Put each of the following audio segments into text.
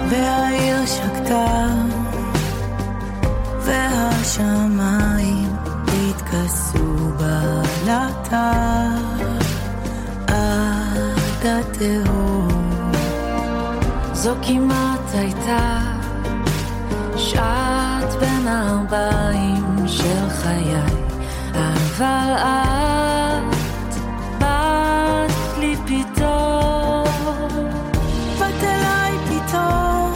והעיר שקטה והשמיים התכסו בלטה עד התהום. זו כמעט הייתה שעת בין הארבעים של חיי, אבל את באת לי פתאום, באת אליי פתאום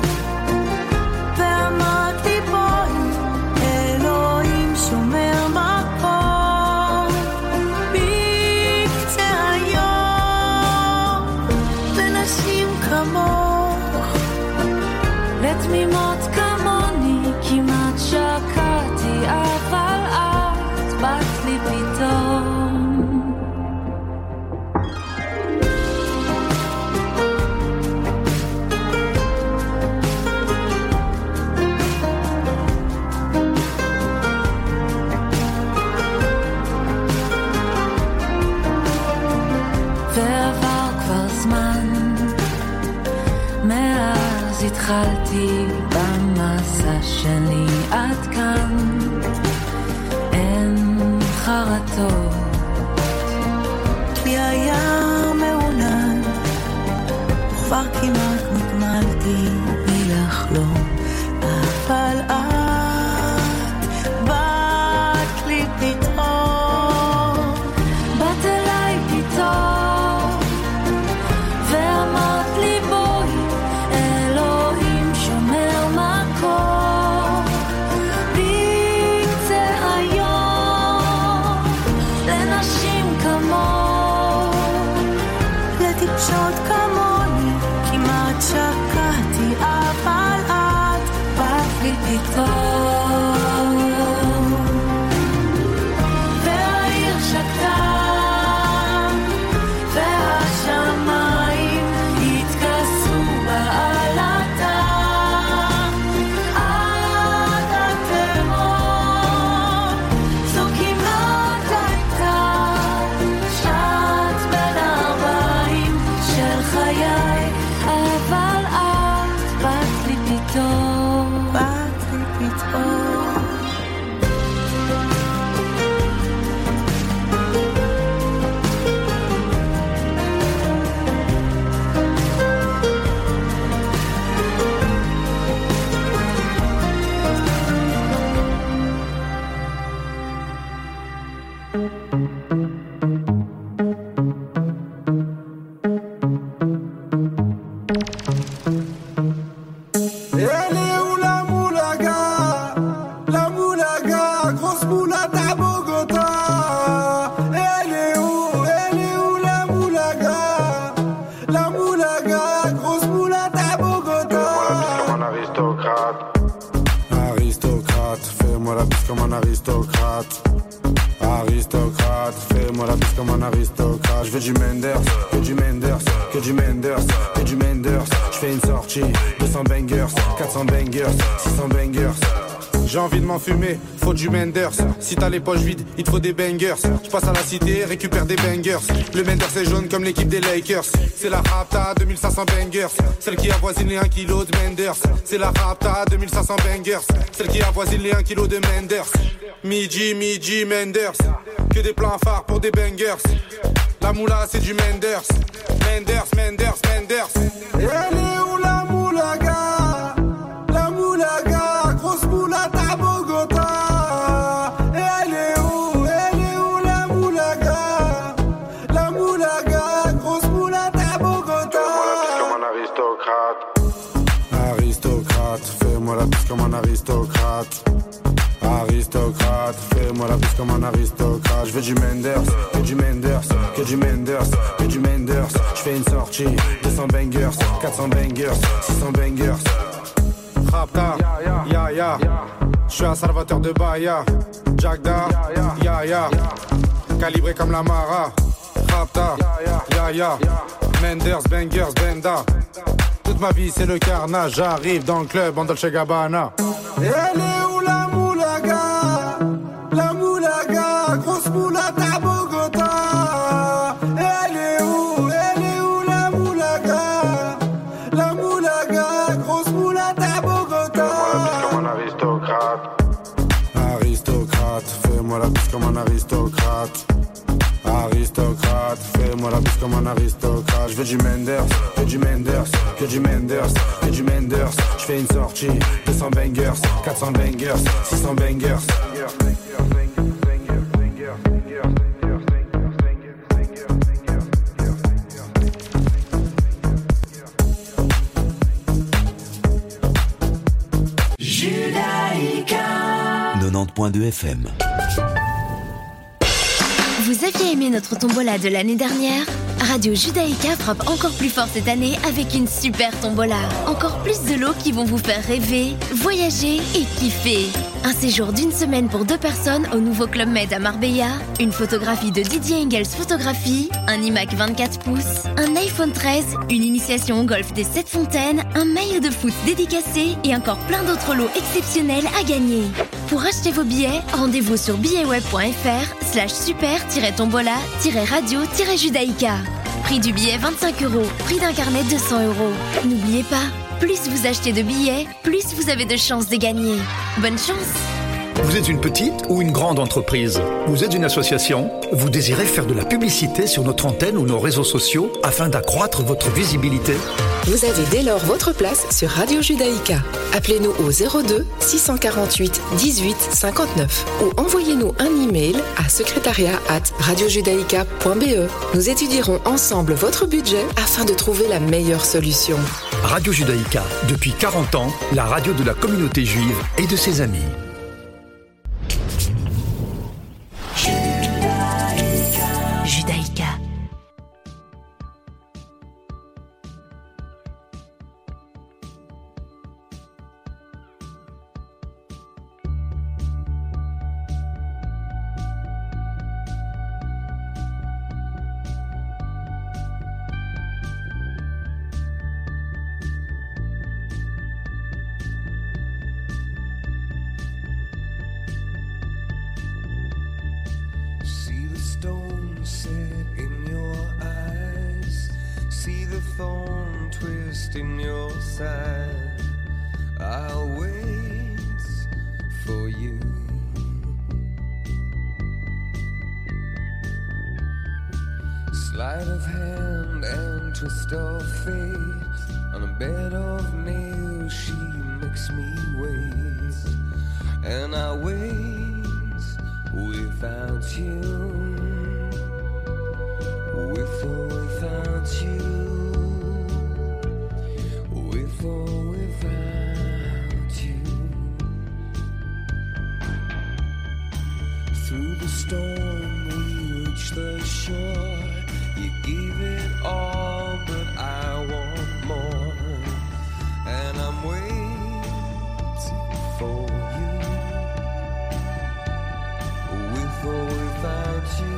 ואמרת לי בואי, אלוהים שומר מקום בקצה היום לנשים כמוך, לתמימות כמוני כמעט שקעתי, אבל את באת לי פתאום. ועבר כבר זמן מאז התחלתי במסע שלי עד כאן, אין חרטות כי היה מעונן, וכבר כמעט נגמלתי מלחלום, אבל את באת לי פתאום, באת אליי פתאום ואמרת לי בואי, אלוהים שומר מקום בקצה היום לנשים כמוך, לטיפשות כמוני כמעט שקעתי, אבל את באת לי פתאום. והעיר שקטה והשמיים התכסו בעלתה עד התהום. זו כמעט הייתה שעת בין הארבעים של חיי, אבל את באת לי פתאום, באת לי פתאום. Elle est où la moulaga? La moulaga, grosse moulade à Bogota. Elle est où la moulaga? La moulaga, grosse moulade à Bogota. Fais-moi la bise comme un aristocrate. Aristocrate, fais-moi la bise comme un aristocrate. Aristocrate, fais-moi la bise comme un aristocrate. Je veux du Menders, que du Menders, que du Menders, que du Menders. Je fais une sortie, 200 bangers, 400 bangers, 600 bangers. J'ai envie de m'enfumer, faut du Menders. Si t'as les poches vides, il te faut des bangers. Je passe à la cité, récupère des bangers. Le Menders est jaune comme l'équipe des Lakers. C'est la Rapta 2500 bangers, celle qui avoisine les 1 kg de Menders. C'est la Rapta 2500 bangers, celle qui avoisine les 1 kg de Menders. Midi, Menders, que des plans phares pour des bangers. La moula c'est du Menders, Menders, Menders, Menders. Elle est où la moulaga? La moulaga, grosse moulade à Bogota. Elle est où la moulaga? La moulaga, grosse moulade à Bogota. Fais-moi la bise comme un aristocrate. Aristocrate, fais-moi la bise comme un aristocrate. Je veux du Menders, que du Menders, que du Menders, que du Menders. Je fais une sortie, 200 bangers, 400 bangers, 600 bangers. Rapta, ya. Je suis un salvateur de Bahia. Jagda, ya. Calibré comme la Mara. Rapta, ya. Menders, bangers, benda. Toute ma vie c'est le carnage. J'arrive dans le club en Dolce Gabbana. Elle est où la moulaga? La moulaga, grosse moulade à Bogota. Elle est où la moulaga? La moulaga, grosse aristocrate. Aristocrate, fais-moi la bise comme un aristocrate. Je veux du Menders, que du Menders, que du Menders, que du Menders. Je fais une sortie, 200 bangers, 400 bangers, 600 bangers. Judaïka 90.2 FM. Vous aviez aimé notre tombola de l'année dernière ? Radio Judaïka frappe encore plus fort cette année avec une super tombola. Encore plus de lots qui vont vous faire rêver, voyager et kiffer. Un séjour d'une semaine pour 2 personnes au nouveau Club Med à Marbella, une photographie de Didier Engels Photographie, un iMac 24 pouces, un iPhone 13, une initiation au golf des 7 fontaines, un maillot de foot dédicacé et encore plein d'autres lots exceptionnels à gagner. Pour acheter vos billets, rendez-vous sur billetweb.fr/super-tombola-radio-judaïka. Prix du billet 25 €, prix d'un carnet 200 €. N'oubliez pas, plus vous achetez de billets, plus vous avez de chances de gagner. Bonne chance! Vous êtes une petite ou une grande entreprise? Vous êtes une association? Vous désirez faire de la publicité sur notre antenne ou nos réseaux sociaux afin d'accroître votre visibilité? Vous avez dès lors votre place sur Radio Judaïka. Appelez-nous au 02 648 18 59 ou envoyez-nous un email à secrétariat@radiojudaïka.be. Nous étudierons ensemble votre budget afin de trouver la meilleure solution. Radio Judaïka, depuis 40 ans, la radio de la communauté juive et de ses amis. Judaïka. In your side, I'll wait for you. Sleight of hand and twist of fate. On a bed of nails, she makes me wait, and I wait without you, with or without you. With or without you. Through the storm we reach the shore. You gave it all, but I want more. And I'm waiting for you. With or without you.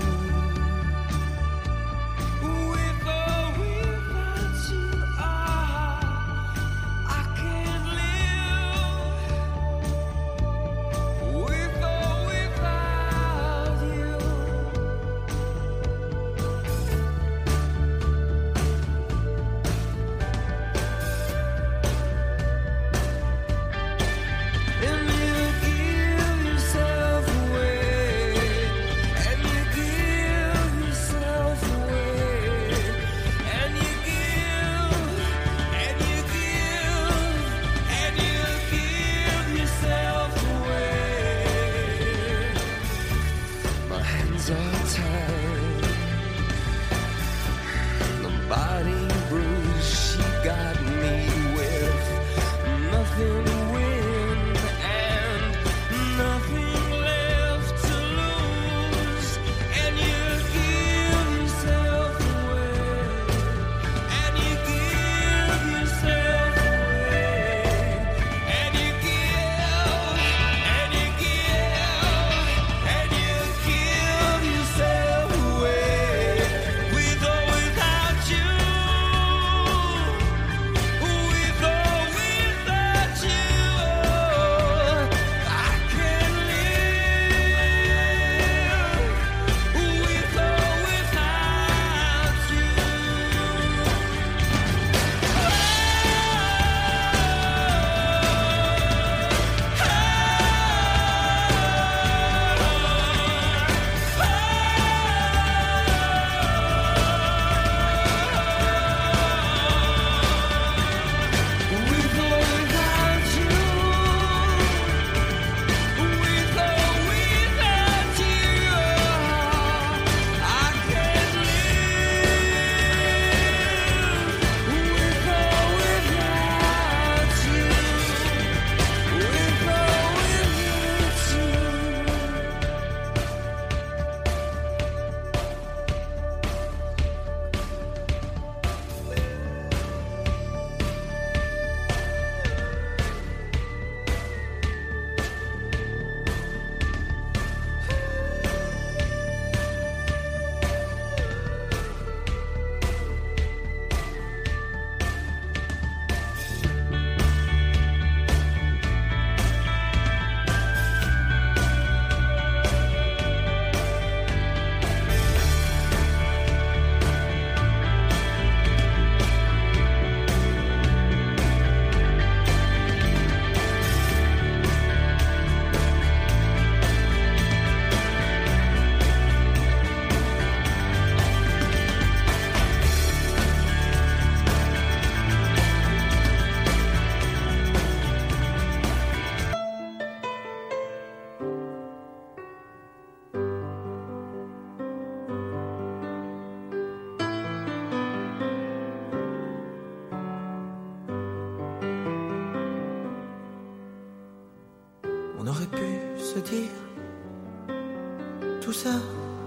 On aurait pu se dire tout ça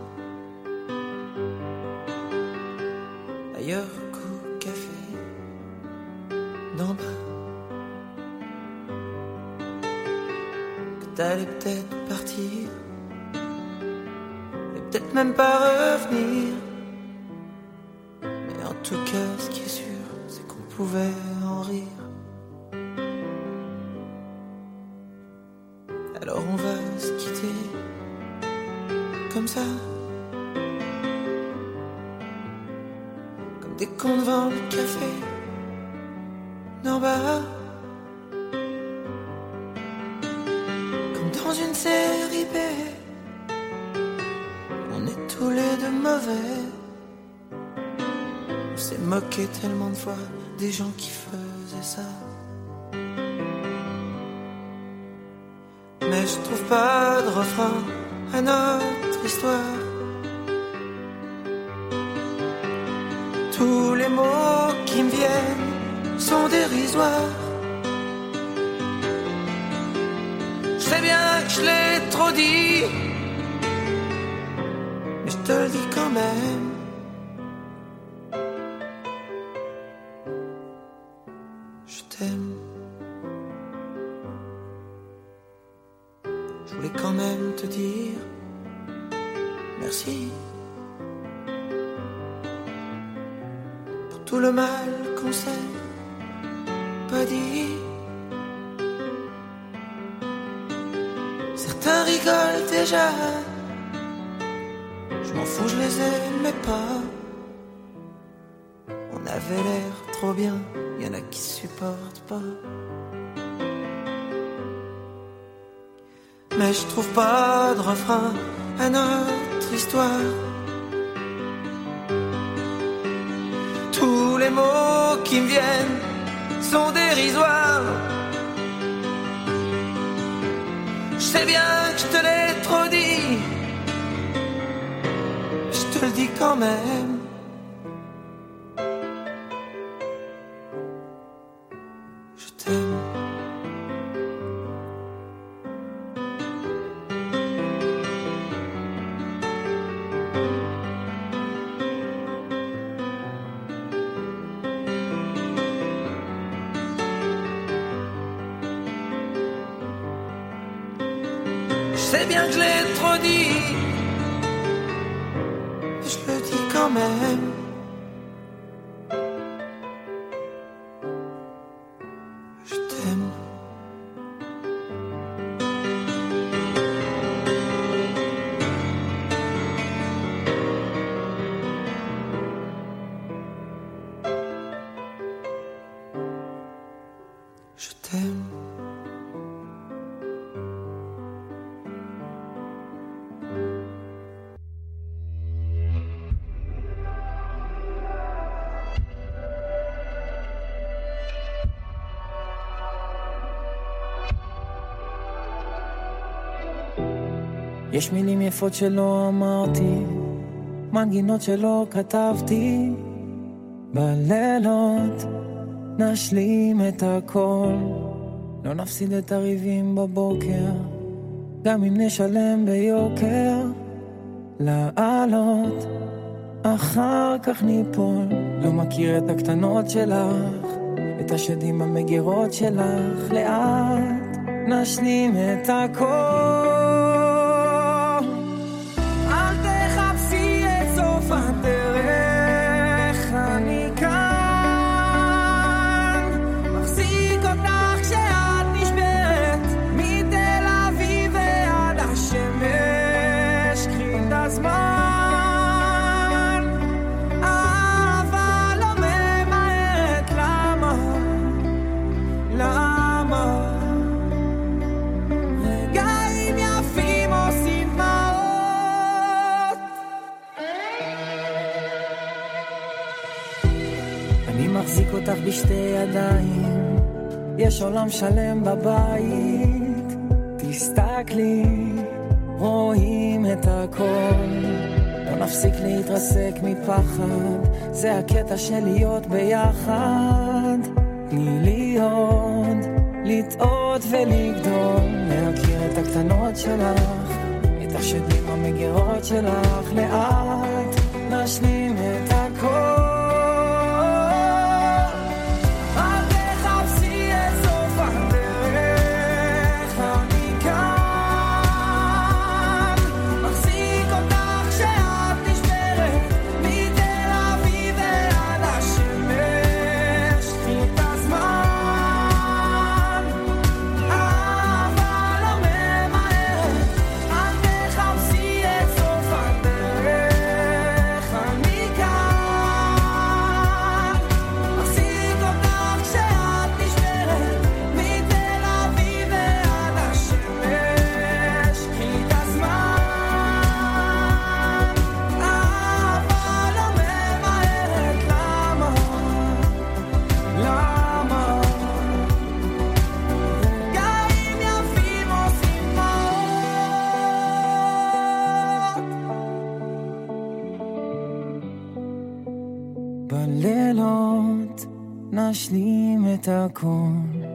ailleurs qu'au café d'en bas. Que t'allais peut-être partir et peut-être même pas revenir. Mais en tout cas, ce qui est sûr, c'est qu'on pouvait en rire. Alors on va se quitter comme ça, comme des cons devant le café d'en bas, comme dans une série B. On est tous les deux mauvais. On s'est moqué tellement de fois des gens qui faisaient ça. Mais je trouve pas de refrain à notre histoire. Tous les mots qui me viennent sont dérisoires. Je sais bien que je l'ai trop dit, mais je te le dis quand même. Je t'aime. Je voulais quand même te dire merci pour tout le mal qu'on s'est pas dit. Certains rigolent déjà, je m'en fous, je les aimais pas. On avait l'air trop bien, y'en a qui supportent pas. Mais je trouve pas de refrain à notre histoire. Tous les mots qui me viennent sont dérisoires. Je sais bien que je te l'ai trop dit, je te le dis quand même. Je t'aime. Je sais bien que je l'ai trop dit, mais je le dis quand même. Je t'aime. Je t'aime. יש מילים יפות שלא אמרתי, מנגינות שלא כתבתי, בלילות נשלים את הכל, לא נפסיד את הריבים בבוקר, גם אם נשלם ביוקר, לעלות אחר כך ניפול, לא מכיר את הקטנות שלך, את השדים המגירות שלך, לאט נשלים את הכל. הדרך אני כאן מחזיק אותך כשאת נשברת מתל אביב ועד השמש קחי את הזמן אבל לא ממהרת למה רגעים יפים עושים מחזיק אותך בשתי ידיים, יש עולם שלם בבית, תסתכלי, רואים את הכל, לא נפסיק להתרסק מפחד, זה הקטע של להיות ביחד, תני לי עוד, לטעות ולגדול, להכיר את הקטנות שלך, את השדים המגירות שלך, לאט נשלים את הכל. בלילות נשלים את הכל.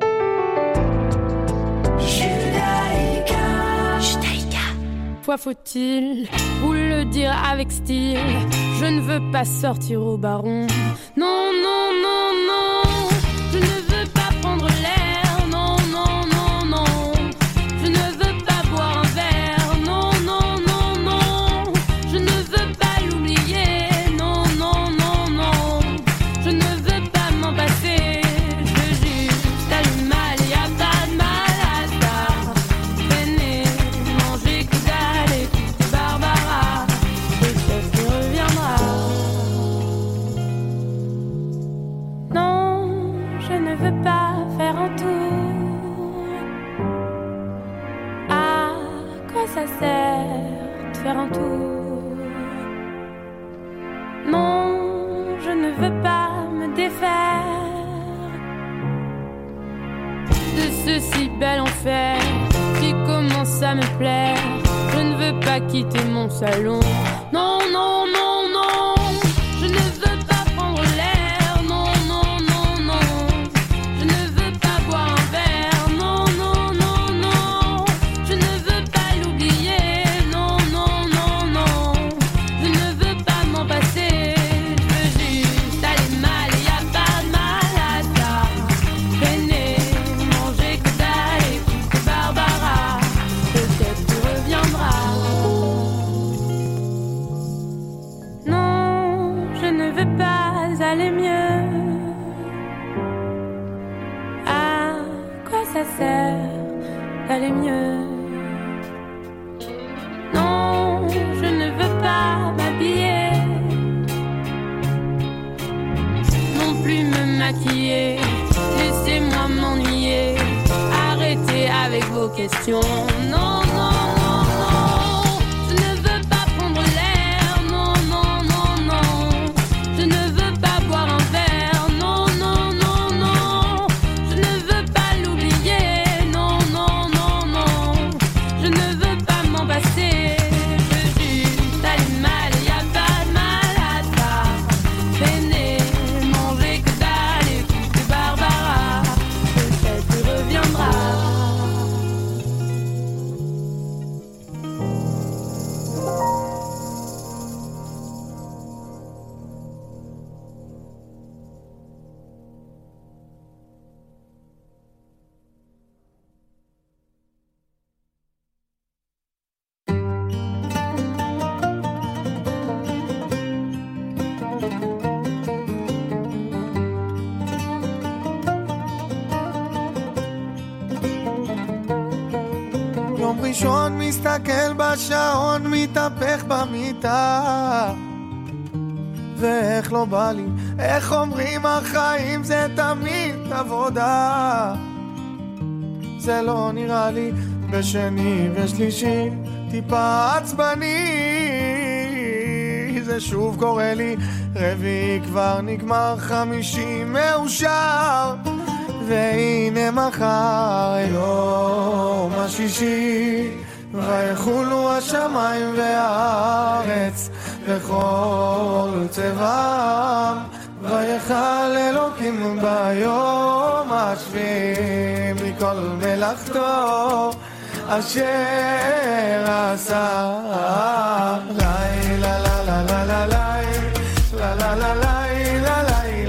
Fois faut-il vous le dire avec style, je ne veux pas sortir au baron. Non, non, non, non, je ne veux pas prendre l'air. Non, non, non, non, je ne veux pas boire un verre. Non, non, non, non, je ne veux pas l'oublier. Non, non, non, non, je ne veux pas m'en passer. Je veux juste aller mal, y a pas de mal à ça. Traîner, manger que dalle, écouter Barbara, peut-être qu'il reviendra. Non, je ne veux pas faire un tour. À quoi ça sert de faire un tour? Non, je ne veux pas me défaire de ce si bel enfer qui commence à me plaire. Je ne veux pas quitter mon salon. Non, non, non, non, je ne veux pas prendre l'air. Non, non, non, non, je ne veux pas boire un verre. Non, non, non, non, je ne veux pas l'oublier. Non, non, non, non, je ne veux pas m'en passer. Je veux juste aller mal, y a pas de mal à ça. Traîner, manger que dalle, écouter Barbara, peut-être qu'il reviendra. Non, je ne veux pas aller mieux. À quoi ça sert d'aller mieux? Non, je ne veux pas m'habiller, non plus me maquiller. Laissez-moi m'ennuyer, arrêtez avec vos questions. Non, non, non, non, je ne veux pas prendre l'air. Non, non, non, non, je ne veux pas boire un verre. Non, non, non, non, je ne veux pas l'oublier. Non, non, non, non, je ne veux pas m'en passer. Je veux juste aller mal, y a pas de mal à ça. Traîner, manger que dalle, écouter Barbara, peut-être qu'il reviendra. יום ראשון מסתכל בשעון, מתהפך במיטה, ואיך לא בא לי, איך אומרים החיים זה תמיד עבודה. זה לא נראה לי בשני ושלישי טיפה עצבני, זה שוב קורה לי, רביעי כבר נגמר, חמישי מאושר, והנה מחר יום השישי, ויחולו השמיים והארץ וכל צבעם, ויחל אלוקים ביום השביעי מכל מלאכתו, אשר עשה לילה לה לה לה לה לה לה לה לה לה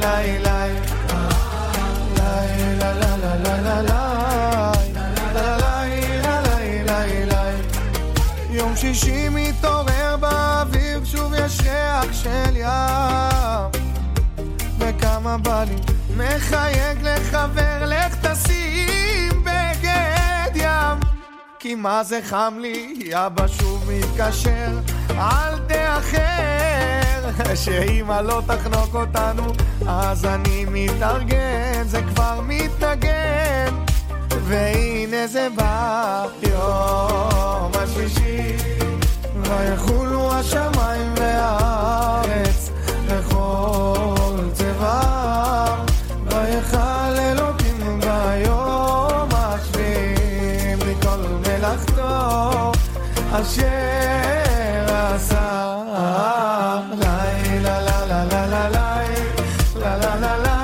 לה יום שישי מתעורר באוויר שוב יש ריח של ים וכמה בא לי מחייג לחבר לך תשים בגד ים כי מה זה חם לי אבא שוב מתקשר אל תאחר שאמא לא תחנוק אותנו אז אני מתארגן זה כבר מתנגן והנה זה בא יום השישי ויחולו השמיים והארץ וכל צבעם ויחל אלוקים ביום השביעי מכל מלאכתו אשר עשה לילה לה לה לה לה לה לה לה לה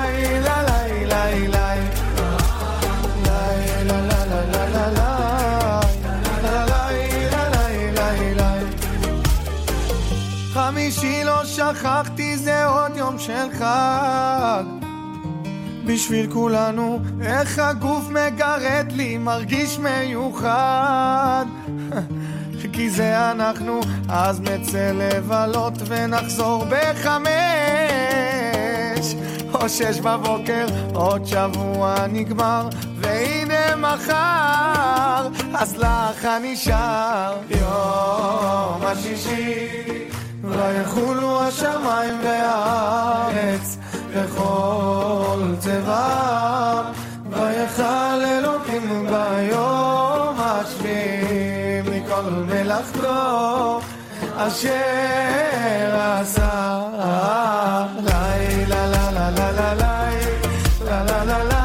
חמישי לא שכחתי זה עוד יום של חג בשביל כולנו איך הגוף מגרד לי מרגיש מיוחד כי זה אנחנו אז נצא לבלות ונחזור ב5 או 6 בבוקר עוד שבוע נגמר והנה מחר אז לך נשאר יום השישי ויחולו השמיים והארץ וכל צבעם ויחל אלוקים ביום השביעי מכל מלאכתו אשר עשה לילה לה לה לה לה לה לה לה לה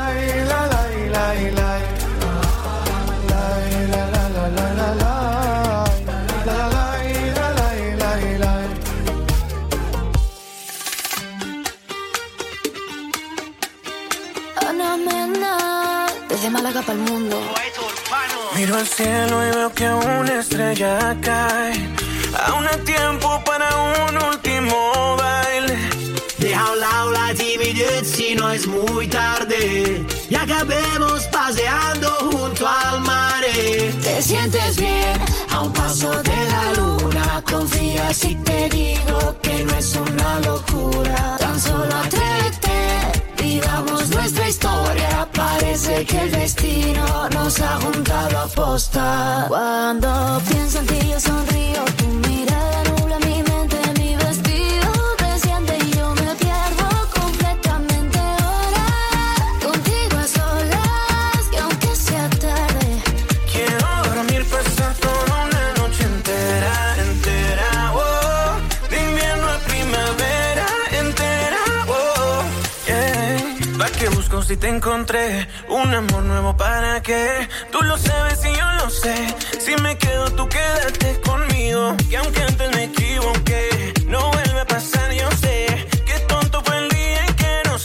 Desde Málaga para el mundo. Miro al cielo y veo que una estrella cae. Aún hay tiempo para un último baile. Deja a un lado la timidez si no es muy tarde y acabemos paseando junto al mar. Te sientes bien a un paso de la luna. Confía si te digo que no es una locura. Tan solo atrévete, vivamos nuestra historia. Parece que el destino nos ha juntado a posta. Cuando pienso en ti yo sonrío. Tu mirada nubla mi mente, mi vestido desciende y yo me pierdo completamente ahora. Contigo a solas, que aunque sea tarde quiero dormir, pasar toda una noche entera, entera, oh. De invierno a primavera, entera, oh, yeah. ¿Pa' qué busco si te encontré? Un amor nuevo para qué? Tú lo sabes y yo lo sé. Si me quedo tú quédate conmigo. Que aunque antes me equivoqué, no vuelve a pasar, yo sé. Qué tonto fue el día en que nos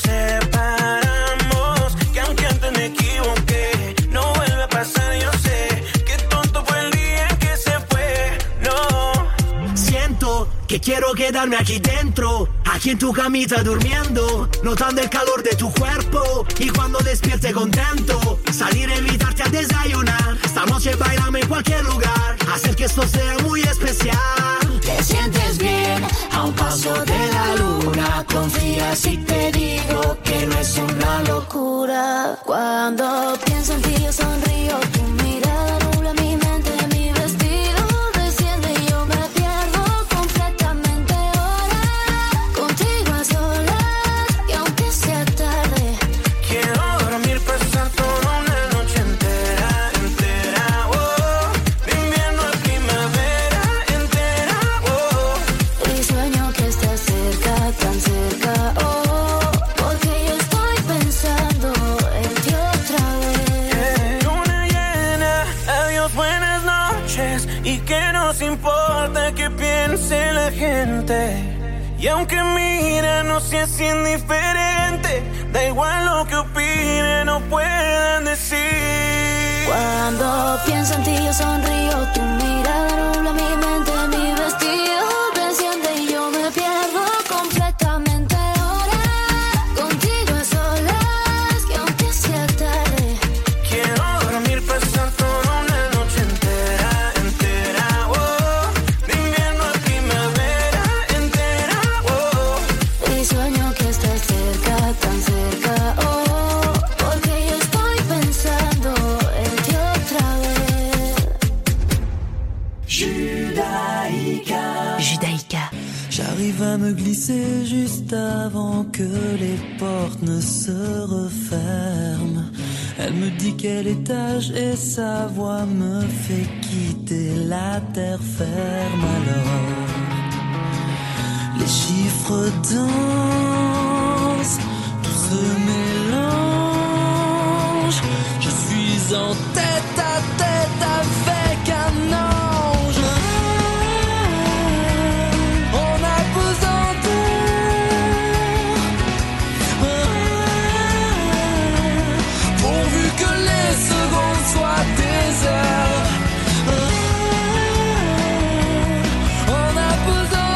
separamos. Que aunque antes me equivoqué, no vuelve a pasar, yo sé. Qué tonto fue el día en que se fue, no. Siento que quiero quedarme aquí dentro, aquí en tu camita durmiendo, notando el calor de tu cuerpo y cuando despierte contento, salir a invitarte a desayunar. Esta noche bailame en cualquier lugar, hacer que esto sea muy especial. Te sientes bien a un paso de la luna. Confía si te digo que no es una locura. Cuando pienso en ti yo sonrío. Tu mirada nubla mi mente, mi vestido desciende y yo me pierdo completamente ahora. Contigo a solas, y aunque sea tarde quiero dormir, pasar toda una noche entera, entera, oh. De invierno a primavera, entera, oh. y sueño que estás cerca, tan cerca, oh. Porque yo estoy pensando en ti otra vez. Luna llena, adiós, buenas noches. Y que nos importa que piense la gente. Y aunque mira, no seas indiferente. Da igual lo que opinen o puedan decir. Cuando pienso en ti, yo sonrío. Tu mirada nubla mi mente, mi vestido desciende y yo me pierdo completamente. Ahora contigo a solas, que aunque sea tarde, quiero dormir pensando una noche entera, entera, oh. De invierno a primavera entera, oh. Y sueño que estás cerca, tan cerca, oh. Porque yo estoy pensando en ti otra vez. Judaïka. Judaïka. J'arrive à me glisser juste avant que les portes ne se referment. Elle me dit quel étage et sa voix me fait quitter la terre ferme. Alors les chiffres dansent, tout se mélange. Je suis en tête à tête avec un ange. On a besoin pourvu que les secondes soient des heures. On a besoin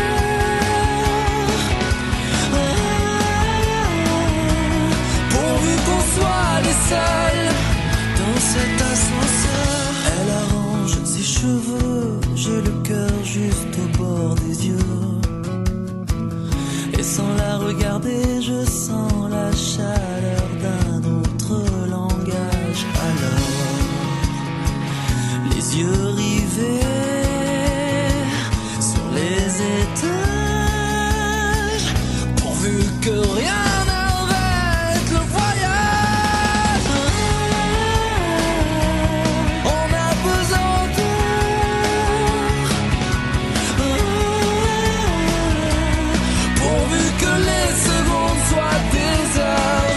pourvu qu'on soit les seuls dans cet ascenseur. Elle arrange ses cheveux, j'ai le cœur juste au bord des yeux. Et sans la regarder, je sens la chaleur d'un autre langage. Alors, les yeux rivés sur les étages, pourvu que rien n'arrête le voyage. On a besoin pourvu que les secondes soient des heures.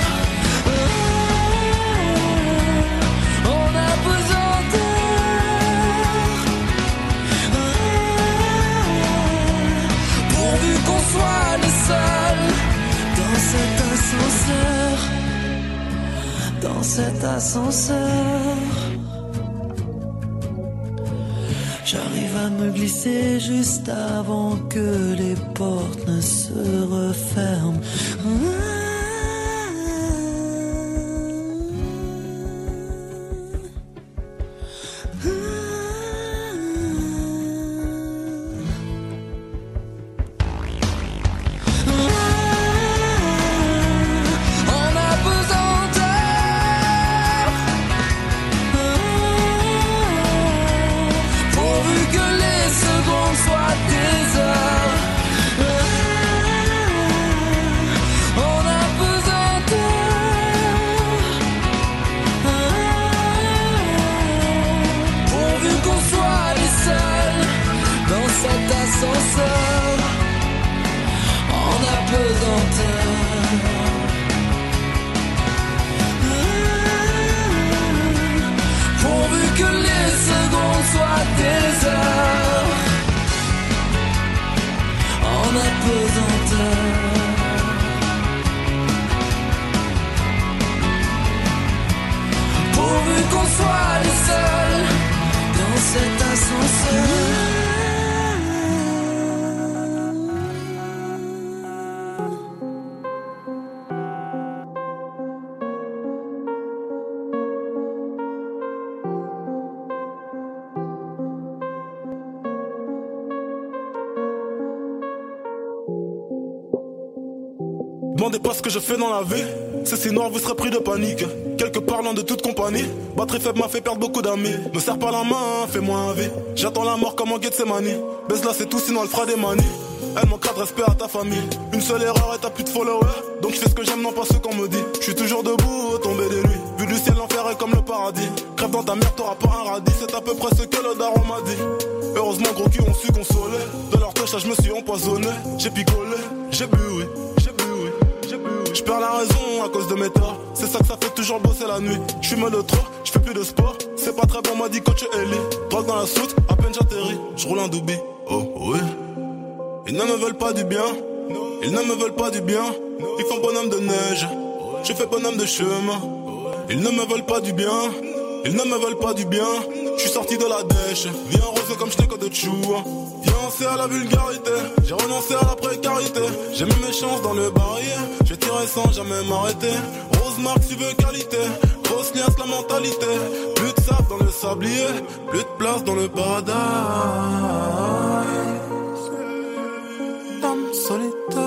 On a besoin pourvu qu'on soit les seuls dans cet ascenseur. Dans cet ascenseur, j'arrive à me glisser juste avant que les portes ne se referment. On a besoin pourvu que les secondes soient des heures. On a besoin pourvu qu'on soit les seuls dans cet ascenseur. On a besoin pourvu que les secondes soient des heures. On a besoin pourvu qu'on soit les seuls dans cet ascenseur. Demandez pas ce que je fais dans la vie. C'est si noir, vous serez pris de panique. Quelque parlant de toute compagnie. Batterie faible m'a fait perdre beaucoup d'amis. Me serre pas la main, fais-moi un V. J'attends la mort comme en Gethsemane. Baisse là, c'est tout, sinon elle fera des manies. Elle manquera de respect à ta famille. Une seule erreur et t'as plus de followers. Donc je fais ce que j'aime, non pas ce qu'on me dit. Je suis toujours debout, tombé des nuits. Vu du ciel, l'enfer est comme le paradis. Crève dans ta mère, t'auras pas un radis. C'est à peu près ce que le daron m'a dit. Heureusement, gros cul, on su consoler. De leur touche, là, je me suis empoisonné. J'ai picolé, j'ai bu, oui. Je perds la raison à cause de mes torts. C'est ça que ça fait toujours bosser la nuit. Je fume de trop, je fais plus de sport. C'est pas très bon, m'a dit coach Ellie. Drogue dans la soute, à peine j'atterris. Je roule un doobie, oh oui. Ils ne me veulent pas du bien. Ils ne me veulent pas du bien. Ils font bonhomme de neige. Je fais bonhomme de chemin. Ils ne me veulent pas du bien. Ils ne me veulent pas du bien, je suis sorti de la dèche. Viens rose comme je n'ai que de chou. Fiancé à la vulgarité, j'ai renoncé à la précarité. J'ai mis mes chances dans le barillet, j'ai tiré sans jamais m'arrêter. Rose marque tu veux qualité, grosse liasse la mentalité. Plus de sable dans le sablier, plus de place dans le paradis. Dame solitaire.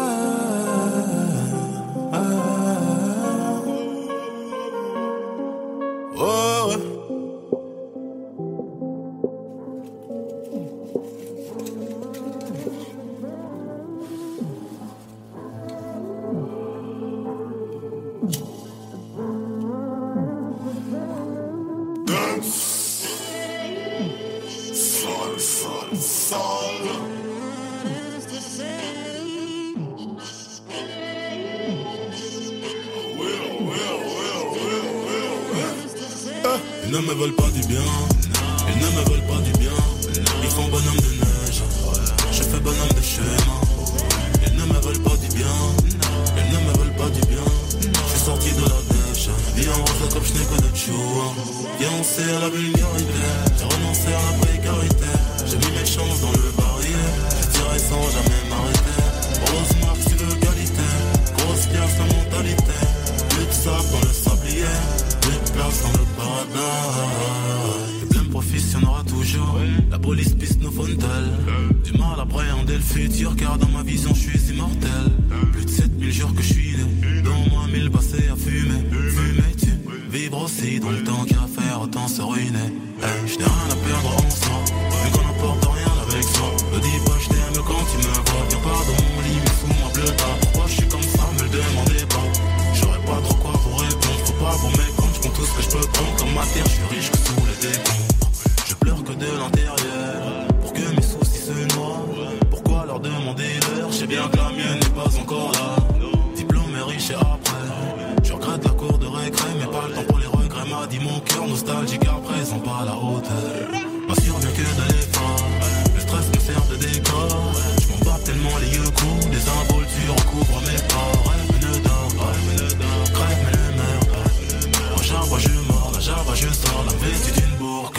Ouais, ouais. Ils ne me veulent pas du bien, ils ne me veulent pas du bien. Ils font bonhomme de neige, je fais bonhomme de schéma. Ils ne me veulent pas du bien, ils ne me veulent pas du bien. Je suis sorti de la dèche, vie en rose comme je n'ai que de chou. Fiancé à la vulgarité, j'ai renoncé à la précarité. J'ai mis mes chances dans le barillet, j'ai tiré sans jamais m'arrêter. Rose marque tu veux qualité, grosse pièce la mentalité. Plus de sable dans le sablier, plus de place dans le paradis. Les pleins profits y en aura toujours. La police piste nos fontelles. Du mal à appréhender le futur, car dans ma vision je suis immortel. Plus de 7000 jours que je suis né, dans moi 1000 passés à fumer. Fumer tu vivre aussi dans le temps qu'il y a à faire, autant se ruiner. Hey, je n'ai rien à perdre en soi, vu qu'on n'apporte rien avec soi. Ne dis pas je t'aime quand tu me vois. Viens pas dans mon lit mais sous ma bleuta. Pourquoi je suis comme ça, me le demandez pas. J'aurais pas trop quoi vous répondre, faut pas vous mettre compte. Je prends tout ce que je peux prendre comme ma terre, je suis riche que sous les décombres. Je pleure que de l'intérieur, pour que mes soucis se noient. Pourquoi leur demander l'heure, je sais bien que la mienne n'est pas encore là. Diplôme est riche et après, je regrette la cour de récré, mais pas le temps pour les regrets. M'a dit mon cœur nostalgique à présent pas à la hauteur. M'assure bien que de l'effort, le stress me sert de décor. Je m'en bats tellement les yeux coups, des involtures recouvrent mes corps. Rêve mais ne dors pas, crève mais ne meurs pas. Moi j'avoue je mords, là j'avoue je sors, la vêtue d'une bourque.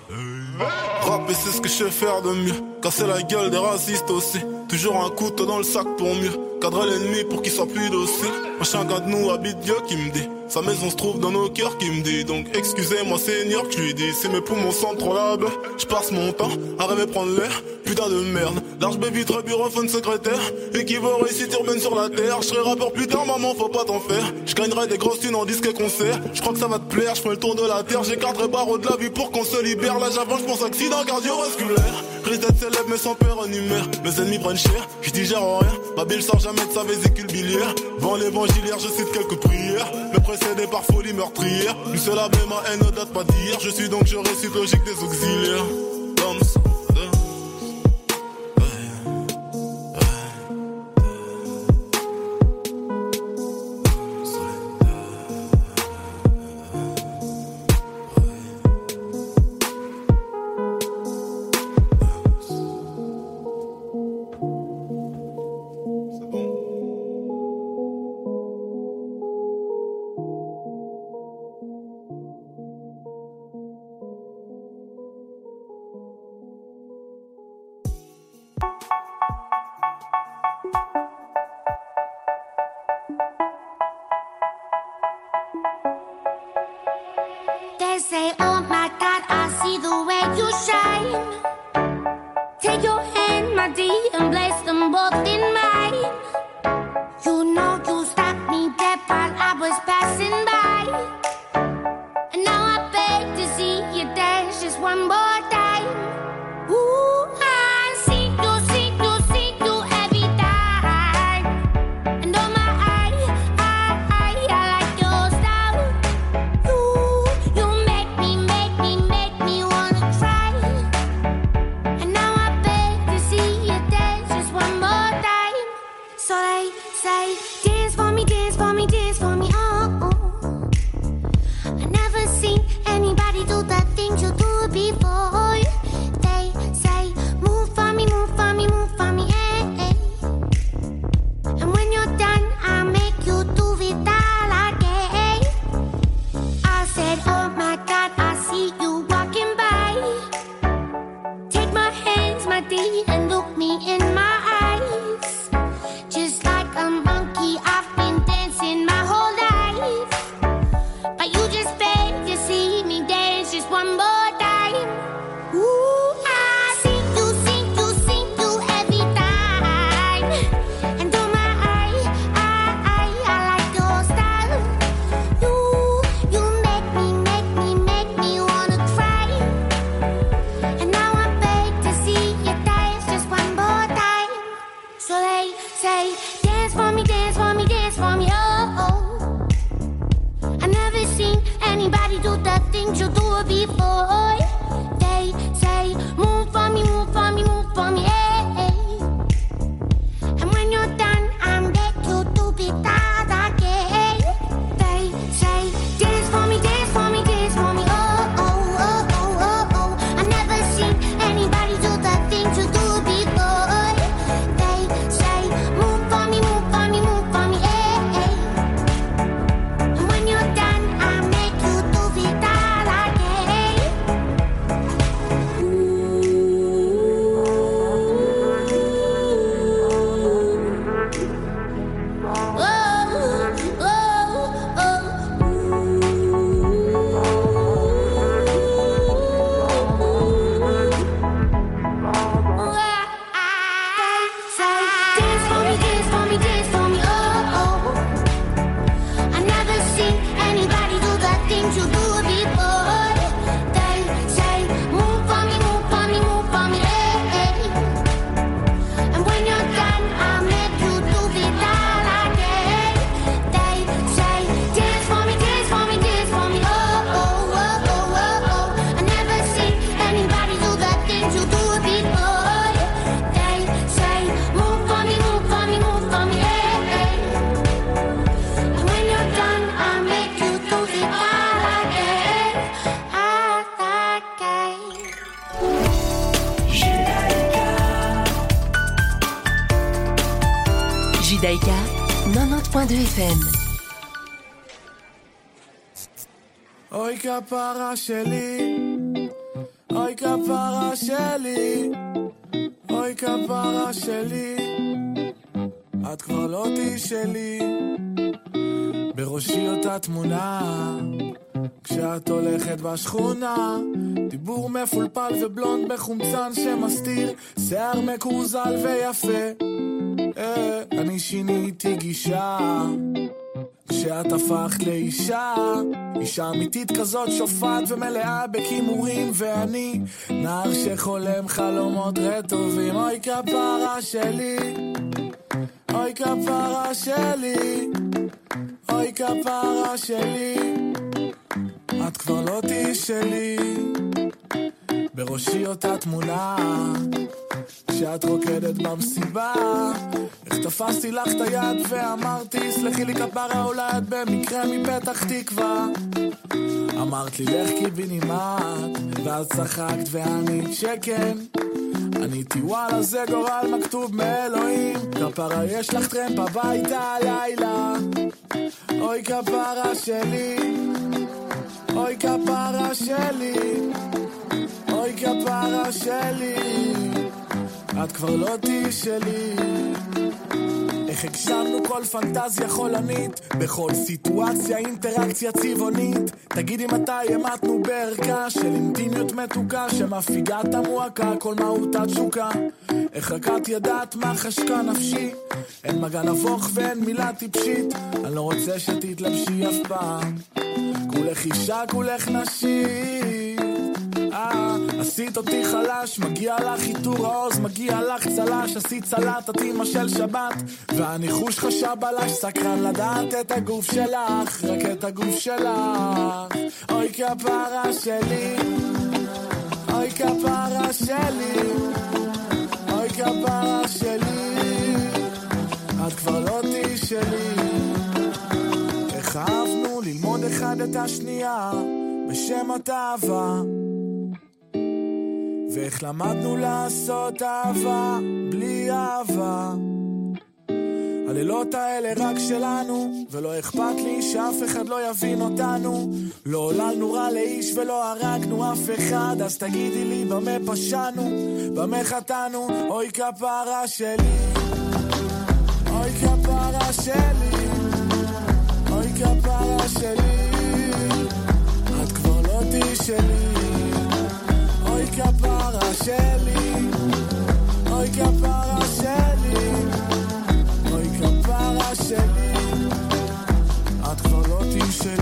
Rapper c'est ce que je sais faire de mieux, casser la gueule des racistes aussi. Toujours un couteau dans le sac pour mieux cadrer l'ennemi pour qu'il soit plus docile. Machin gars de nous habite Dieu qui me dit, sa maison se trouve dans nos cœurs qui me dit. Donc excusez-moi Seigneur que je lui dis, si mes poumons sentent trop la baie, je passe mon temps à rêver prendre l'air. Putain de merde, large baby très bureauphone secrétaire, équivaut réussite urbaine sur la terre. Je serai rappeur plus tard maman faut pas t'en faire. Je gagnerai des grosses thunes en disque et concert. Je crois que ça va te plaire, je fais le tour de la terre. J'écarterai barreau de la vie pour qu'on se libère. Là j'avance, je pense accident cardiovasculaire. Risque d'être célèbre mais sans père en humeur. Mes ennemis prennent cher, je digère rien. Ma bille sort jamais de sa vésicule biliaire. Vent l'évangiliaire, je cite quelques prières. Me précédé par folie meurtrière. Une seule abbé, ma haine ne date pas d'hier. Je suis donc je récite logique des auxiliaires. They say, oh my God, I see the way you shine. Take your hand, my dear, and place them both in mine. You know you stopped me dead while I was passing by. And now I beg to see you dance just one more time. Ooh, I see you every time. And oh my, I like your style. You make me wanna try. And now I beg to see you dance just one anybody do the things you do before. They say, move for me, move for me, move for me, hey. And when you're done, I beg you to be that again. They say, dance for me, dance for me, dance for me, oh, oh, oh, oh, oh, oh. I've never seen anybody do the things you do before. They say, move for me, move for me, move for me, hey. And when you're done, I make you do it all again. Oh, oh, oh. Say, dance for me, dance for me, dance for me, oh, oh. I never seen anybody do the things you do before. They say, move for me, move for me, move for me, hey. And when you're done, I'll make you do it all again. They say, dance for me, dance for me, dance for me, oh, oh, oh, oh, oh, oh. I never seen anybody do the things you do before. They say, move for me, move for me, move for me, hey. And when you're done, I'll make you do it all again, all again. Judaïka, 90.2 FM. אוי כפרה שלי, אוי כפרה שלי, אוי כפרה שלי, את כבר לא תהי שלי. בראשי אותה תמונה, כשאת הולכת בשכונה, דיבור מפולפל ובלונד בחומצן שמסתיר, שיער מקורזל ויפה. אני שיניתי גישה כשאת הפכת לאישה, אישה אמיתית כזאת שופעת ומלאה בכימורים, ואני נער שחולם חלומות רטובים. אוי כפרה שלי, אוי כפרה שלי, אוי כפרה שלי, את כבר לא תהי שלי. בראשי אותה תמונה כשאת רוקדת במסיבה, איך תפסתי לך את היד ואמרתי סלחי לי כפרה, אולי את במקרה מפתח תקווה. אמרת לי לך קיבינימט, ואז צחקת וענית שכן. עניתי וואלה זה גורל מכתוב מאלוהים, כפרה יש לך טרמפ הביתה הלילה. אוי כפרה שלי, אוי כפרה שלי, אוי כפרה שלי, את כבר לא תהי שלי. איך הגשמנו כל פנטזיה חולנית, בכל סיטואציה אינטראקציה צבעונית. תגידי מתי המתנו בערכה של אינטימיות מתוקה, שמפיגה את המועקה כל מהותה תשוקה. איך רק את ידעת מה חשקה נפשי, אין מגע נבוך ואין מילה טיפשית. אני לא רוצה שתתלבשי אף פעם, כולך אישה כולך נשית. עשית אותי חלש, מגיע לך חיתור העוז, מגיע לך צלש. עשית סלט אמא של שבת, והניחוש חשב עלש, סקרן לדעת את הגוף שלך, רק את הגוף שלך. אוי כפרה שלי, אוי כפרה שלי, אוי כפרה שלי, את כבר לא תהי שלי. איך אהבנו ללמוד אחד את השנייה בשם התאווה, ואיך למדנו לעשות אהבה בלי אהבה. הלילות האלה רק שלנו, ולא אכפת לי שאף אחד לא יבין אותנו. לא עוללנו רע לאיש ולא הרגנו אף אחד, אז תגידי לי במה פשענו, במה חטאנו. אוי כפרה שלי, אוי כפרה שלי, אוי כפרה שלי, את כבר לא תהי שלי. אוי כפרה שלי, אוי כפרה שלי, אוי כפרה שלי, את כבר לא תהי שלי.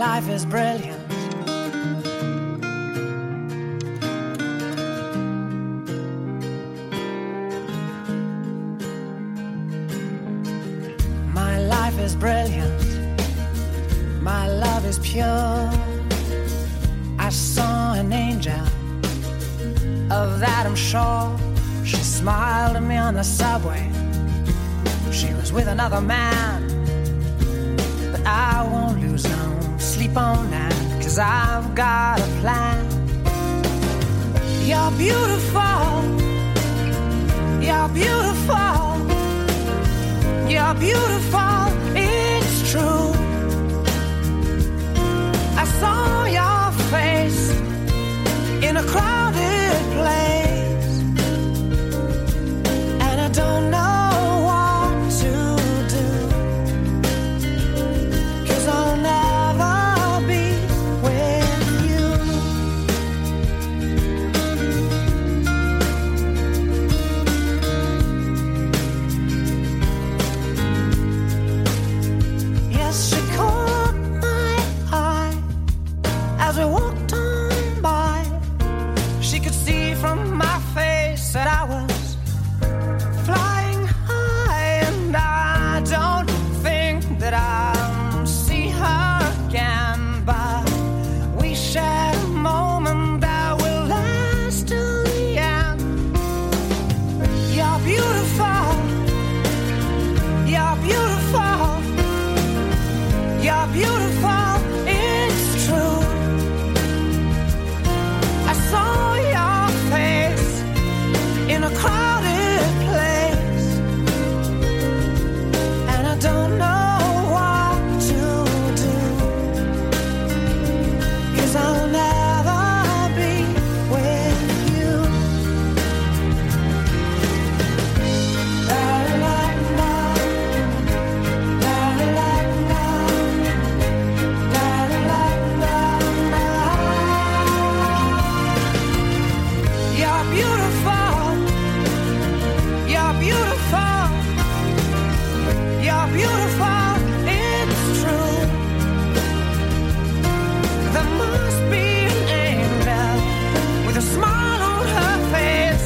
life is brilliant. My life is brilliant. My love is pure. I saw an angel, of that I'm sure. She smiled at me on the subway. She was with another man, but I won't lose no sleep on that, 'cause I've got a plan. You're beautiful. You're beautiful. You're beautiful. It's true. I saw your face in a crowded place, and I don't know what to do, 'cause I'll never be with you. Yes, she caught my eye as we walked on by. She could see from my face that I was flying high, and I don't think that I'll see her again, but we shared a moment that will last till the end. You're beautiful. You're beautiful. You're beautiful. It's true. I saw your face in a crowded place, and I don't know what to do, 'cause I'll never be with you. La la la, la la la, la la la la. You're beautiful. You're beautiful. You're beautiful. It's true. There must be an angel with a smile on her face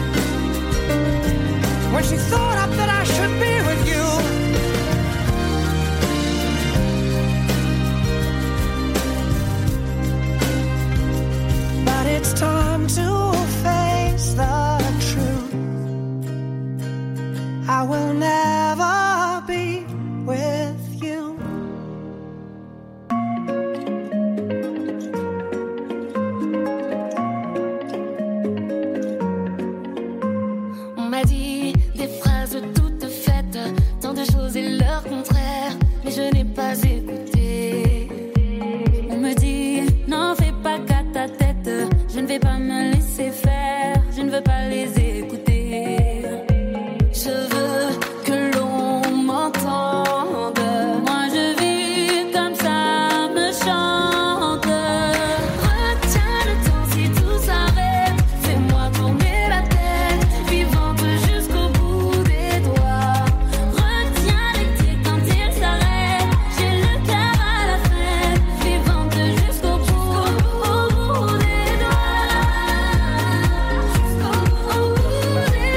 when she thought up that I should be with you. But it's time to face the truth. I will never be with you. On m'a dit des phrases toutes faites, tant de choses et leur contraire, mais je n'ai pas écouté. On me dit, n'en fais pas qu'à ta tête, je ne vais pas me laisser faire, je ne veux pas les écouter. Je veux que l'on m'entende. Moi je vis comme ça me chante. Retiens le temps si tout s'arrête. Fais-moi tourner la tête, vivante jusqu'au bout des doigts. Retiens l'été quand il s'arrête. J'ai le cœur à la fête, vivante jusqu'au bout des doigts. Jusqu'au bout des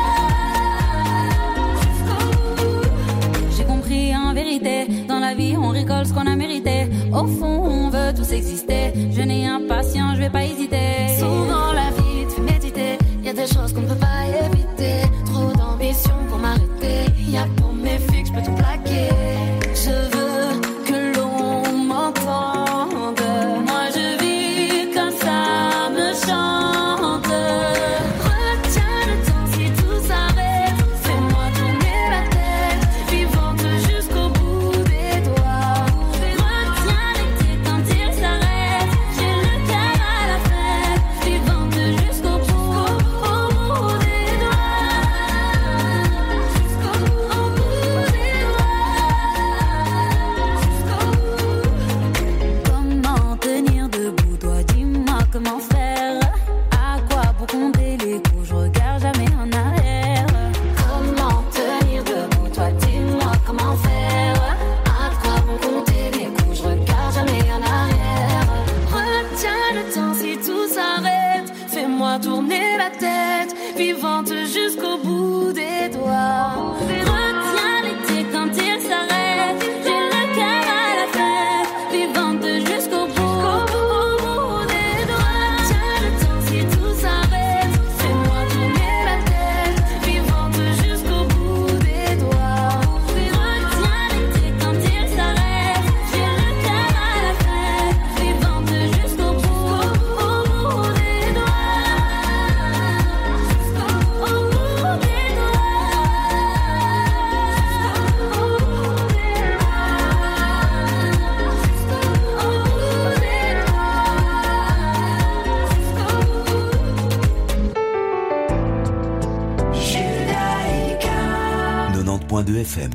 doigts. J'ai compris en vérité, dans la vie on récolte ce qu'on a mérité. Au fond on veut tous exister. Jeune et impatient, je vais pas hésiter. Souvent la vie te fait méditer. Y'a des choses qu'on ne peut pas éviter. Trop d'ambition pour m'arrêter. Y'a pour mes fixes, je peux tout plaquer. Je veux que l'on m'entende. Moi je vis comme ça me chante. Retiens le temps si tout s'arrête. Fais-moi tourner la tête, vivante jusqu'au bout des doigts. Retiens l'été quand il s'arrête. J'ai le cœur à la fête. FM.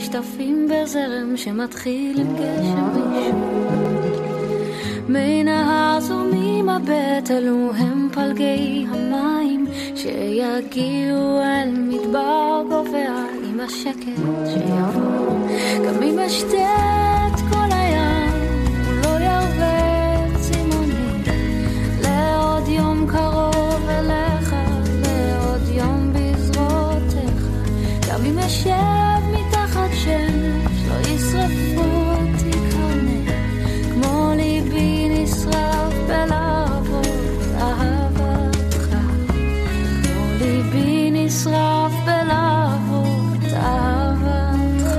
נשטפים בזרם שמתחיל עם גשם ראשון. מי נהר זורמים הבט, אלו הם פלגי המים שיגיעו אל מדבר גובע עם השקט שיבוא. גם אם אשתת כל הים הוא לא ירווה צימונים לעוד יום קרוב אליך, לעוד יום בזרועותיך. גם אם אשב מתחת שמש לא ישרפו אותי קרניה, כמו ליבי נשרף בלהבות אהבתך, כמו ליבי נשרף בלהבות אהבתך.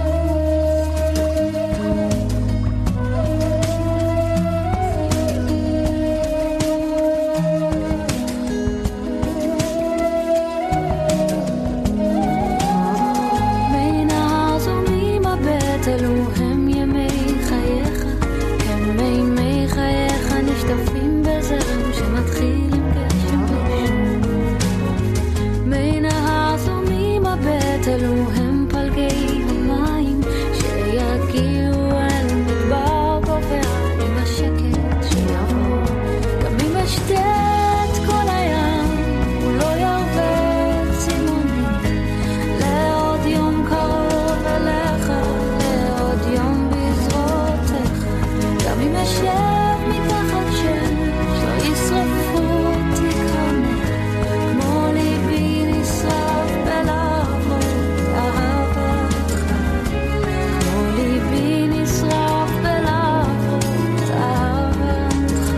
מי נהר זורמים הבט, אלו הם ימי חייך, הם מי חייך נשטפים בזרם שמתחיל עם גשם ראשון. מי נהר זורמים הבט, אלו הם פלגי המים שיגיעו אל מדבר גובע עם השקט שיבוא. גם אם אשתת כל הים הוא לא ירווה צימונים לעוד יום קרוב אליך, לעוד יום בזרועותיך. גם אם אשב מתחת שמש לא ישרפו אותי קרניה, כמו ליבי נשרף בלהבות אהבתך, כמו ליבי נשרף בלהבות אהבתך.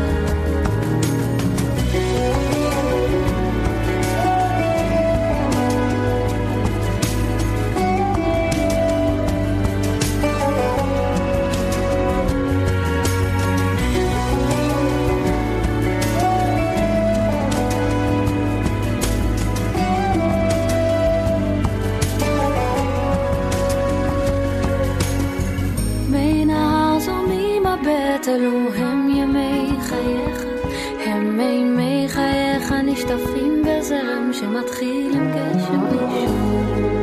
מי נהר זורמים הבט, אלו הם ימי חייך, הם מי חייך נשטפים בזרם שמתחיל עם גשם ראשון.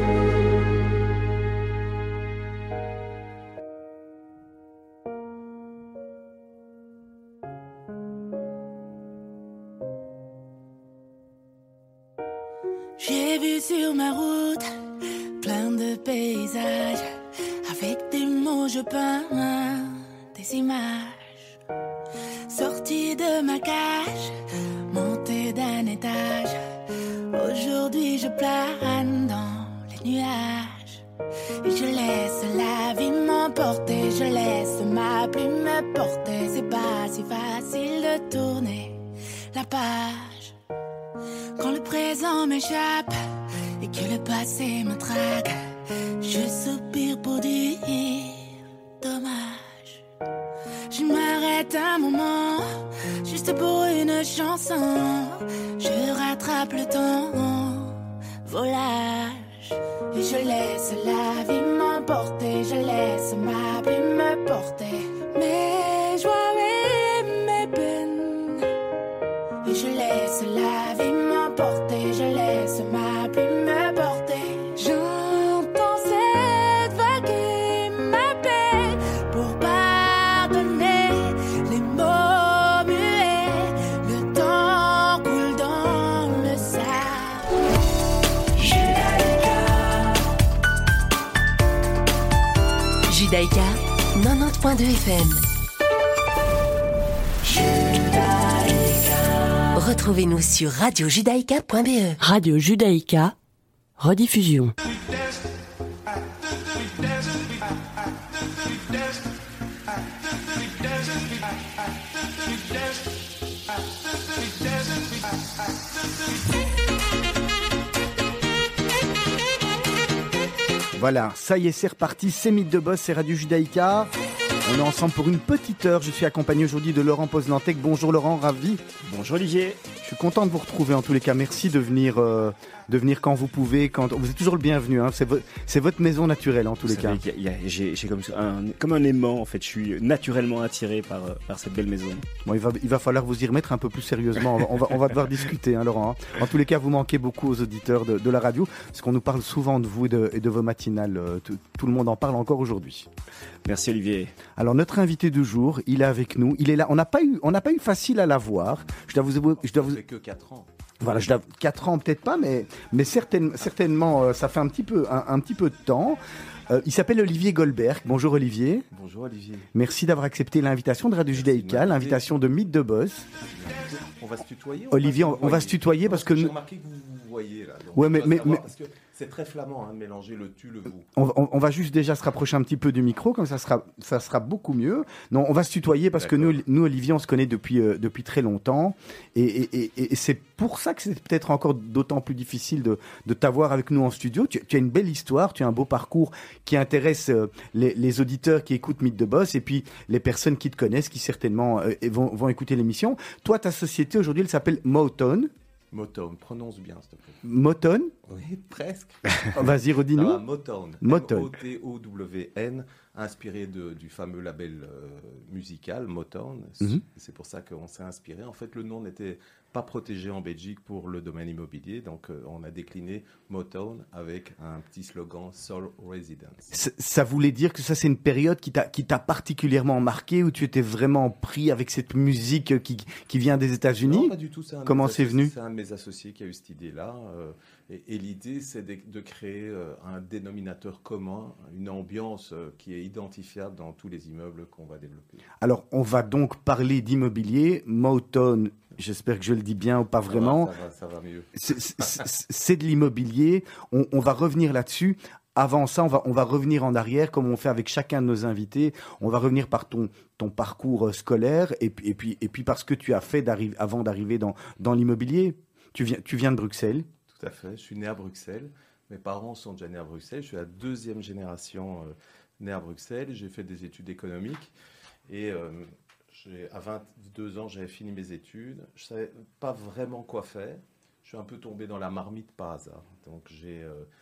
J'ai vu sur ma route plein de paysages. Avec des mots je peins des images. Sortie de ma cage, montée d'un étage. Aujourd'hui je plane dans les nuages. Et je laisse la vie m'emporter, je laisse ma plume me porter. C'est pas si facile de tourner la page quand le présent m'échappe et que le passé me traque. Je soupire pour dire dommage. Je m'arrête un moment, juste pour une chanson. Je rattrape le temps, volage. Et je laisse la vie m'emporter, je laisse ma plume me porter. Mes joies et mes peines. Et je laisse la vie m'emporter, je laisse ma plume me porter. J'entends cette vague qui m'appelle pour pardonner les mots muets. Le temps coule dans le sable. Judaïka 90.2 FM. Retrouvez-nous sur radiojudaïka.be. Radio Judaïka, rediffusion. Voilà, ça y est, c'est reparti, c'est Mythe de Boss, c'est Radio Judaïka. On est ensemble pour une petite heure. Je suis accompagné aujourd'hui de Laurent Poznantec. Bonjour Laurent, ravi. Bonjour Olivier. Je suis content de vous retrouver en tous les cas. Merci de venir quand vous pouvez. Vous êtes toujours le bienvenu. Hein. C'est votre maison naturelle en tous les cas. J'ai comme un aimant en fait. Je suis naturellement attiré par cette belle maison. Bon, il va falloir vous y remettre un peu plus sérieusement. On va devoir discuter, hein, Laurent. Hein. En tous les cas, vous manquez beaucoup aux auditeurs de la radio, parce qu'on nous parle souvent de vous et de vos matinales. Tout le monde en parle encore aujourd'hui. Merci Olivier. Alors notre invité du jour, il est avec nous. Il est là. On n'a pas eu facile à l'avoir. Je dois vous. Que 4 ans. Voilà, 4 ans peut-être pas, mais certainement ça fait un petit peu de temps. Il s'appelle Olivier Goldberg. Bonjour Olivier. Bonjour Olivier. Merci d'avoir accepté l'invitation de Radio Judaïka, l'invitation de Mythe de Boss. On va se tutoyer. Olivier, on va se tutoyer parce que j'ai remarqué que vous voyez là. Donc ouais, mais parce que c'est très flamand de mélanger le tu le vous. On va juste déjà se rapprocher un petit peu du micro, comme ça sera beaucoup mieux. Non, on va se tutoyer parce que nous Olivier, on se connaît depuis très longtemps et c'est pour ça que c'est peut-être encore d'autant plus difficile de t'avoir avec nous en studio. Tu as une belle histoire, tu as un beau parcours qui intéresse les auditeurs qui écoutent Mythe de Boss et puis les personnes qui te connaissent, qui certainement vont écouter l'émission. Toi, ta société aujourd'hui, elle s'appelle Motown. Motown, prononce bien s'il te plaît. Motown ? Oui, presque. Vas-y, redis-nous. Motown. Motown. M-O-T-O-W-N, inspiré du fameux label musical Motown. C'est pour ça qu'on s'est inspiré. En fait, le nom n'était pas protégé en Belgique pour le domaine immobilier, donc on a décliné Motown avec un petit slogan Soul Residence. Ça voulait dire que ça, c'est une période qui t'a particulièrement marqué, où tu étais vraiment pris avec cette musique qui vient des États-Unis ? Non, pas du tout. Comment c'est venu ? C'est un de mes associés qui a eu cette idée-là. Et l'idée, c'est de créer un dénominateur commun, une ambiance qui est identifiable dans tous les immeubles qu'on va développer. Alors, on va donc parler d'immobilier. Motown, j'espère que je le dis bien ou pas vraiment. Ça va mieux. C'est de l'immobilier. On va revenir là-dessus. Avant ça, on va revenir en arrière, comme on fait avec chacun de nos invités. On va revenir par ton parcours scolaire et puis par ce que tu as fait avant d'arriver dans l'immobilier. Tu viens de Bruxelles. Tout à fait. Je suis né à Bruxelles. Mes parents sont déjà nés à Bruxelles. Je suis la deuxième génération née à Bruxelles. J'ai fait des études économiques. Et à 22 ans, j'avais fini mes études. Je ne savais pas vraiment quoi faire. Je suis un peu tombé dans la marmite par hasard. Donc j'ai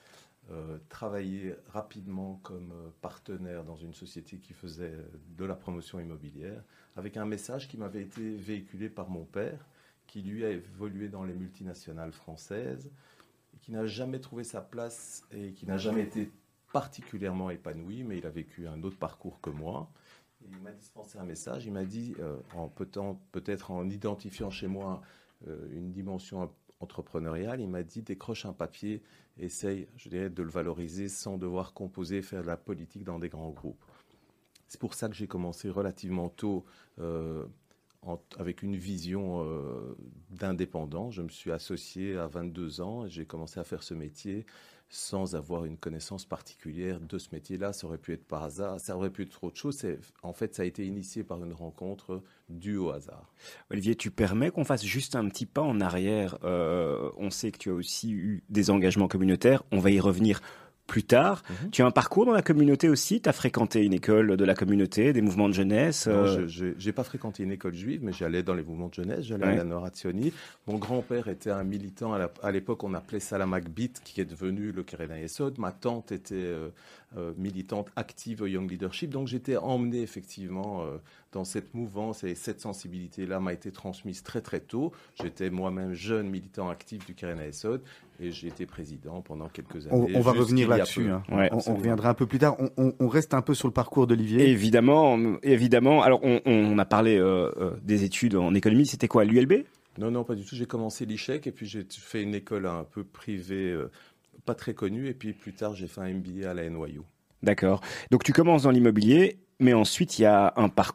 travaillé rapidement comme partenaire dans une société qui faisait de la promotion immobilière, avec un message qui m'avait été véhiculé par mon père, qui lui a évolué dans les multinationales françaises, et qui n'a jamais trouvé sa place et qui n'a jamais été particulièrement épanoui, mais il a vécu un autre parcours que moi. Et il m'a dispensé un message, il m'a dit, peut-être en identifiant chez moi une dimension entrepreneuriale, il m'a dit, décroche un papier, essaye, je dirais, de le valoriser sans devoir composer, faire de la politique dans des grands groupes. C'est pour ça que j'ai commencé relativement tôt avec une vision d'indépendant. Je me suis associé à 22 ans et j'ai commencé à faire ce métier sans avoir une connaissance particulière de ce métier-là. Ça aurait pu être par hasard, ça aurait pu être autre chose. En fait, ça a été initié par une rencontre due au hasard. Olivier, tu permets qu'on fasse juste un petit pas en arrière. On sait que tu as aussi eu des engagements communautaires. On va y revenir plus tard. Tu as un parcours dans la communauté aussi. Tu as fréquenté une école de la communauté, des mouvements de jeunesse. Non, je n'ai pas fréquenté une école juive, mais j'allais dans les mouvements de jeunesse. J'allais à la Noratzioni. Mon grand-père était un militant. À l'époque, on appelait ça la Magbit, qui est devenu le Keren Yesod. Ma tante était militante active au Young Leadership. Donc, j'étais emmené effectivement dans cette mouvance, et cette sensibilité-là m'a été transmise très très tôt. J'étais moi-même jeune militant actif du Keren Yesod et j'ai été président pendant quelques années. On va revenir là-dessus. Hein. On reviendra un peu plus tard. On reste un peu sur le parcours d'Olivier. Évidemment. Alors, on a parlé des études en économie. C'était quoi, l'ULB ? Non, pas du tout. J'ai commencé l'ICHEC et puis j'ai fait une école un peu privée, pas très connue. Et puis plus tard, j'ai fait un MBA à la NYU. D'accord. Donc tu commences dans l'immobilier, mais ensuite il y a un parcours